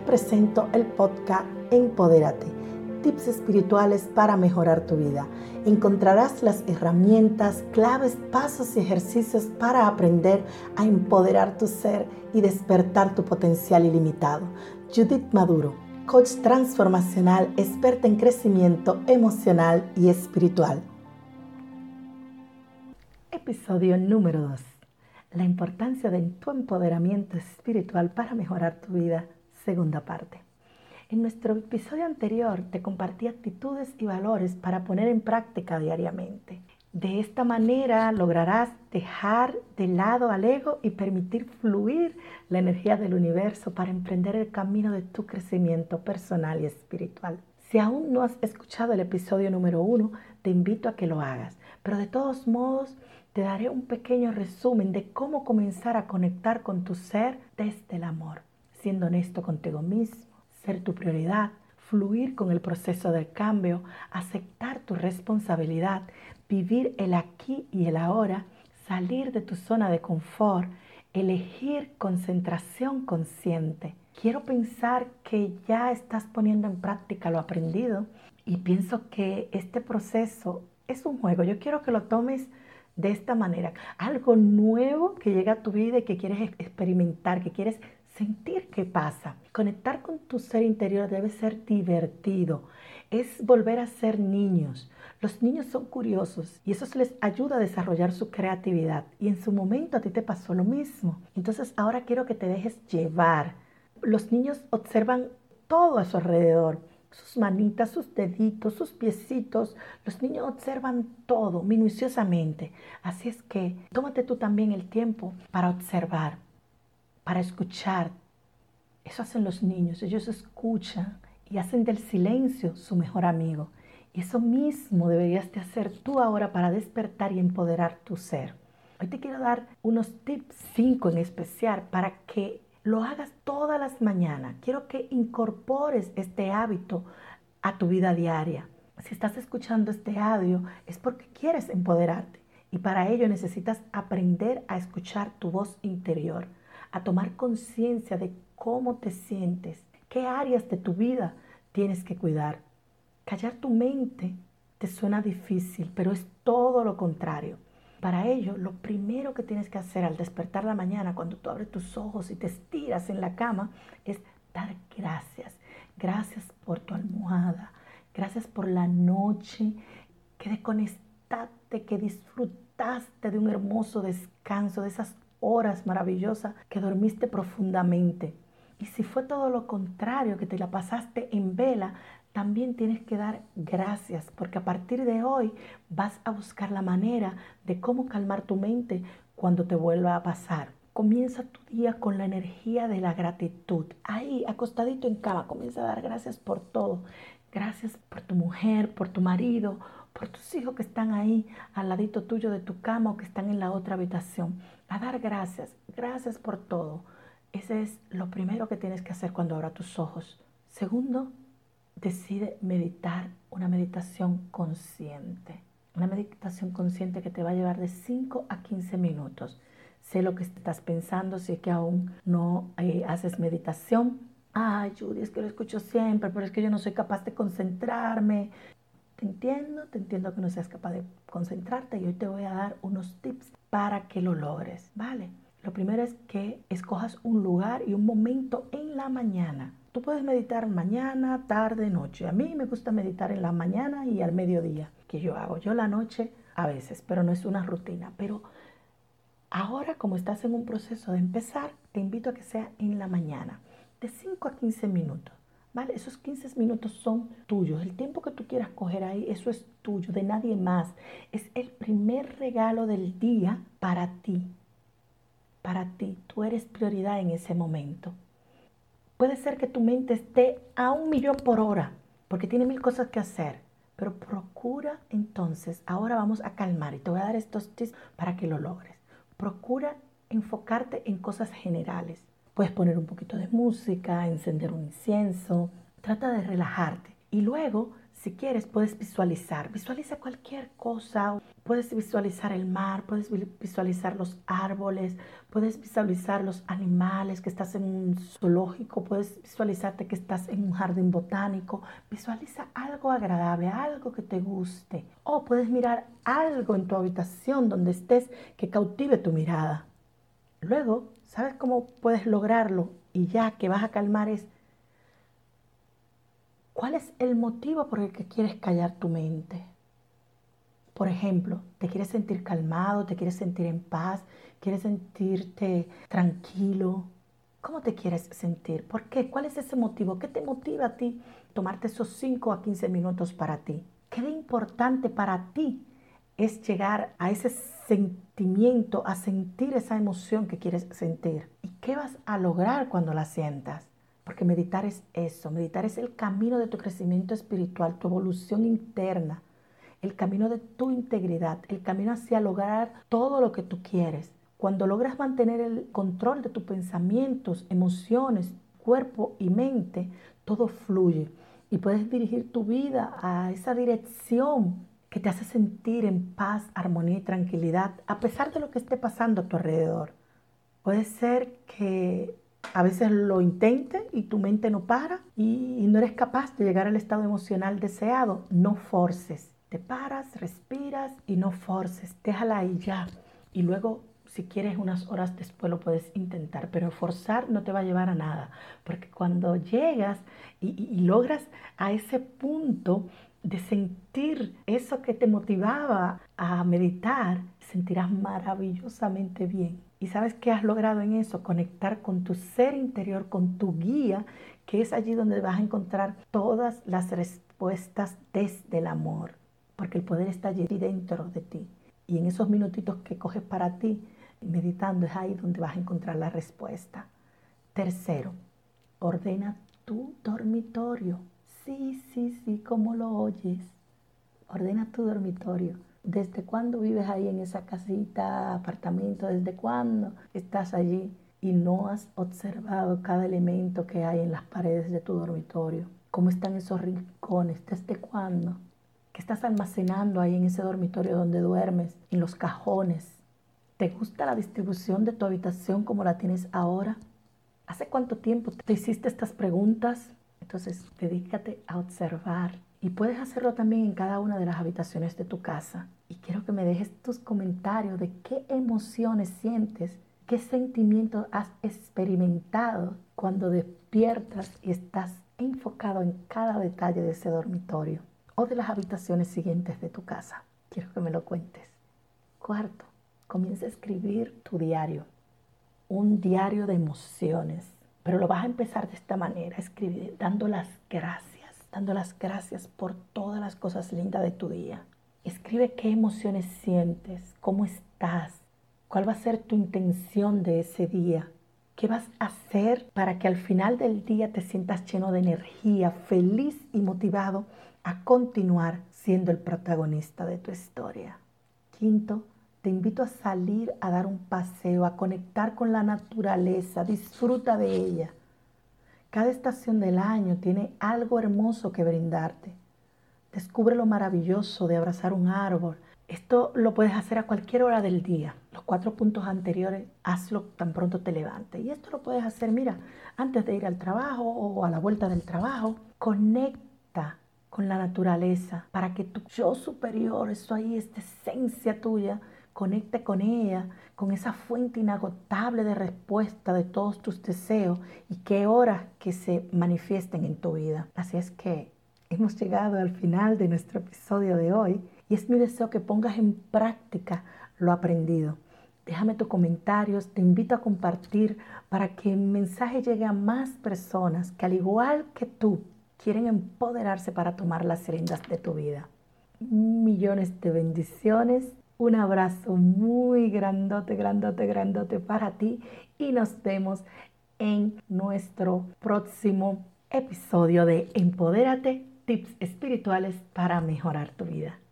presento el podcast Empodérate, tips espirituales para mejorar tu vida. Encontrarás las herramientas, claves, pasos y ejercicios para aprender a empoderar tu ser y despertar tu potencial ilimitado. Judith Maduro, coach transformacional, experta en crecimiento emocional y espiritual. Episodio número 2. La importancia de tu empoderamiento espiritual para mejorar tu vida. Segunda parte. En nuestro episodio anterior te compartí actitudes y valores para poner en práctica diariamente. De esta manera lograrás dejar de lado al ego y permitir fluir la energía del universo para emprender el camino de tu crecimiento personal y espiritual. Si aún no has escuchado el episodio número 1, te invito a que lo hagas. Pero de todos modos, te daré un pequeño resumen de cómo comenzar a conectar con tu ser desde el amor, siendo honesto contigo mismo, ser tu prioridad, fluir con el proceso del cambio, aceptar tu responsabilidad, vivir el aquí y el ahora, salir de tu zona de confort, elegir concentración consciente. Quiero pensar que ya estás poniendo en práctica lo aprendido y pienso que este proceso es un juego. Yo quiero que lo tomes de esta manera, algo nuevo que llega a tu vida y que quieres experimentar, que quieres sentir qué pasa. Conectar con tu ser interior debe ser divertido, es volver a ser niños. Los niños son curiosos y eso les ayuda a desarrollar su creatividad y en su momento a ti te pasó lo mismo. Entonces ahora quiero que te dejes llevar. Los niños observan todo a su alrededor. Sus manitas, sus deditos, sus piecitos. Los niños observan todo minuciosamente. Así es que tómate tú también el tiempo para observar, para escuchar. Eso hacen los niños. Ellos escuchan y hacen del silencio su mejor amigo. Y eso mismo deberías de hacer tú ahora para despertar y empoderar tu ser. Hoy te quiero dar unos tips, 5 en especial, para que lo hagas todas las mañanas. Quiero que incorpores este hábito a tu vida diaria. Si estás escuchando este audio es porque quieres empoderarte y para ello necesitas aprender a escuchar tu voz interior, a tomar conciencia de cómo te sientes, qué áreas de tu vida tienes que cuidar. Callar tu mente te suena difícil, pero es todo lo contrario. Para ello, lo primero que tienes que hacer al despertar la mañana, cuando tú abres tus ojos y te estiras en la cama, es dar gracias. Gracias por tu almohada. Gracias por la noche que desconectaste, que disfrutaste de un hermoso descanso, de esas horas maravillosas que dormiste profundamente. Y si fue todo lo contrario, que te la pasaste en vela, también tienes que dar gracias, porque a partir de hoy vas a buscar la manera de cómo calmar tu mente cuando te vuelva a pasar. Comienza tu día con la energía de la gratitud. Ahí, acostadito en cama, comienza a dar gracias por todo. Gracias por tu mujer, por tu marido, por tus hijos que están ahí al ladito tuyo de tu cama o que están en la otra habitación. A dar gracias, gracias por todo. Ese es lo primero que tienes que hacer cuando abras tus ojos. Segundo, decide meditar una meditación consciente. Una meditación consciente que te va a llevar de 5 a 15 minutos. Sé lo que estás pensando, si es que aún no haces meditación. Ay, Judy, es que lo escucho siempre, pero es que yo no soy capaz de concentrarme. Te entiendo que no seas capaz de concentrarte y hoy te voy a dar unos tips para que lo logres, ¿vale? Lo primero es que escojas un lugar y un momento en la mañana. Tú puedes meditar mañana, tarde, noche. A mí me gusta meditar en la mañana y al mediodía, que yo hago. Yo la noche a veces, pero no es una rutina. Pero ahora, como estás en un proceso de empezar, te invito a que sea en la mañana, de 5 a 15 minutos. ¿Vale? Esos 15 minutos son tuyos. El tiempo que tú quieras coger ahí, eso es tuyo, de nadie más. Es el primer regalo del día para ti. Para ti, tú eres prioridad en ese momento. Puede ser que tu mente esté a 1.000.000 por hora, porque tiene 1000 cosas que hacer. Pero procura entonces, ahora vamos a calmar y te voy a dar estos tips para que lo logres. Procura enfocarte en cosas generales. Puedes poner un poquito de música, encender un incienso. Trata de relajarte. Y luego, Si quieres, puedes visualizar. Visualiza cualquier cosa. Puedes visualizar el mar, puedes visualizar los árboles, puedes visualizar los animales, que estás en un zoológico, puedes visualizarte que estás en un jardín botánico. Visualiza algo agradable, algo que te guste. O puedes mirar algo en tu habitación donde estés que cautive tu mirada. Luego, ¿sabes cómo puedes lograrlo? Y ya que vas a calmar es, ¿cuál es el motivo por el que quieres callar tu mente? Por ejemplo, ¿te quieres sentir calmado? ¿Te quieres sentir en paz? ¿Quieres sentirte tranquilo? ¿Cómo te quieres sentir? ¿Por qué? ¿Cuál es ese motivo? ¿Qué te motiva a ti tomarte esos 5 a 15 minutos para ti? ¿Qué de importante para ti es llegar a ese sentimiento, a sentir esa emoción que quieres sentir? ¿Y qué vas a lograr cuando la sientas? Porque meditar es eso, meditar es el camino de tu crecimiento espiritual, tu evolución interna, el camino de tu integridad, el camino hacia lograr todo lo que tú quieres. Cuando logras mantener el control de tus pensamientos, emociones, cuerpo y mente, todo fluye y puedes dirigir tu vida a esa dirección que te hace sentir en paz, armonía y tranquilidad, a pesar de lo que esté pasando a tu alrededor. Puede ser que a veces lo intentes y tu mente no para y no eres capaz de llegar al estado emocional deseado. No forces. Te paras, respiras y no forces. Déjala ahí ya. Y luego, si quieres, unas horas después lo puedes intentar. Pero forzar no te va a llevar a nada. Porque cuando llegas y logras a ese punto de sentir eso que te motivaba a meditar, sentirás maravillosamente bien. ¿Y sabes qué has logrado en eso? Conectar con tu ser interior, con tu guía, que es allí donde vas a encontrar todas las respuestas desde el amor. Porque el poder está allí dentro de ti. Y en esos minutitos que coges para ti, meditando, es ahí donde vas a encontrar la respuesta. Tercero, ordena tu dormitorio. Sí, sí, sí, como lo oyes. Ordena tu dormitorio. ¿Desde cuándo vives ahí en esa casita, apartamento? ¿Desde cuándo estás allí y no has observado cada elemento que hay en las paredes de tu dormitorio? ¿Cómo están esos rincones? ¿Desde cuándo? ¿Qué estás almacenando ahí en ese dormitorio donde duermes? En los cajones. ¿Te gusta la distribución de tu habitación como la tienes ahora? ¿Hace cuánto tiempo te hiciste estas preguntas? Entonces, dedícate a observar. Y puedes hacerlo también en cada una de las habitaciones de tu casa. Y quiero que me dejes tus comentarios de qué emociones sientes, qué sentimientos has experimentado cuando despiertas y estás enfocado en cada detalle de ese dormitorio o de las habitaciones siguientes de tu casa. Quiero que me lo cuentes. Cuarto, comienza a escribir tu diario. Un diario de emociones. Pero lo vas a empezar de esta manera, escribir, dando las gracias por todas las cosas lindas de tu día. Escribe qué emociones sientes, cómo estás, cuál va a ser tu intención de ese día, qué vas a hacer para que al final del día te sientas lleno de energía, feliz y motivado a continuar siendo el protagonista de tu historia. Quinto, te invito a salir a dar un paseo, a conectar con la naturaleza, disfruta de ella. Cada estación del año tiene algo hermoso que brindarte. Descubre lo maravilloso de abrazar un árbol. Esto lo puedes hacer a cualquier hora del día. Los 4 puntos anteriores, hazlo tan pronto te levantes. Y esto lo puedes hacer, mira, antes de ir al trabajo o a la vuelta del trabajo. Conecta con la naturaleza para que tu yo superior, eso ahí, esta esencia tuya, conecte con ella, con esa fuente inagotable de respuesta de todos tus deseos y qué horas que se manifiesten en tu vida. Así es que hemos llegado al final de nuestro episodio de hoy y es mi deseo que pongas en práctica lo aprendido. Déjame tus comentarios, te invito a compartir para que el mensaje llegue a más personas que al igual que tú quieren empoderarse para tomar las riendas de tu vida. Millones de bendiciones. Un abrazo muy grandote, grandote, grandote para ti y nos vemos en nuestro próximo episodio de Empodérate, tips espirituales para mejorar tu vida.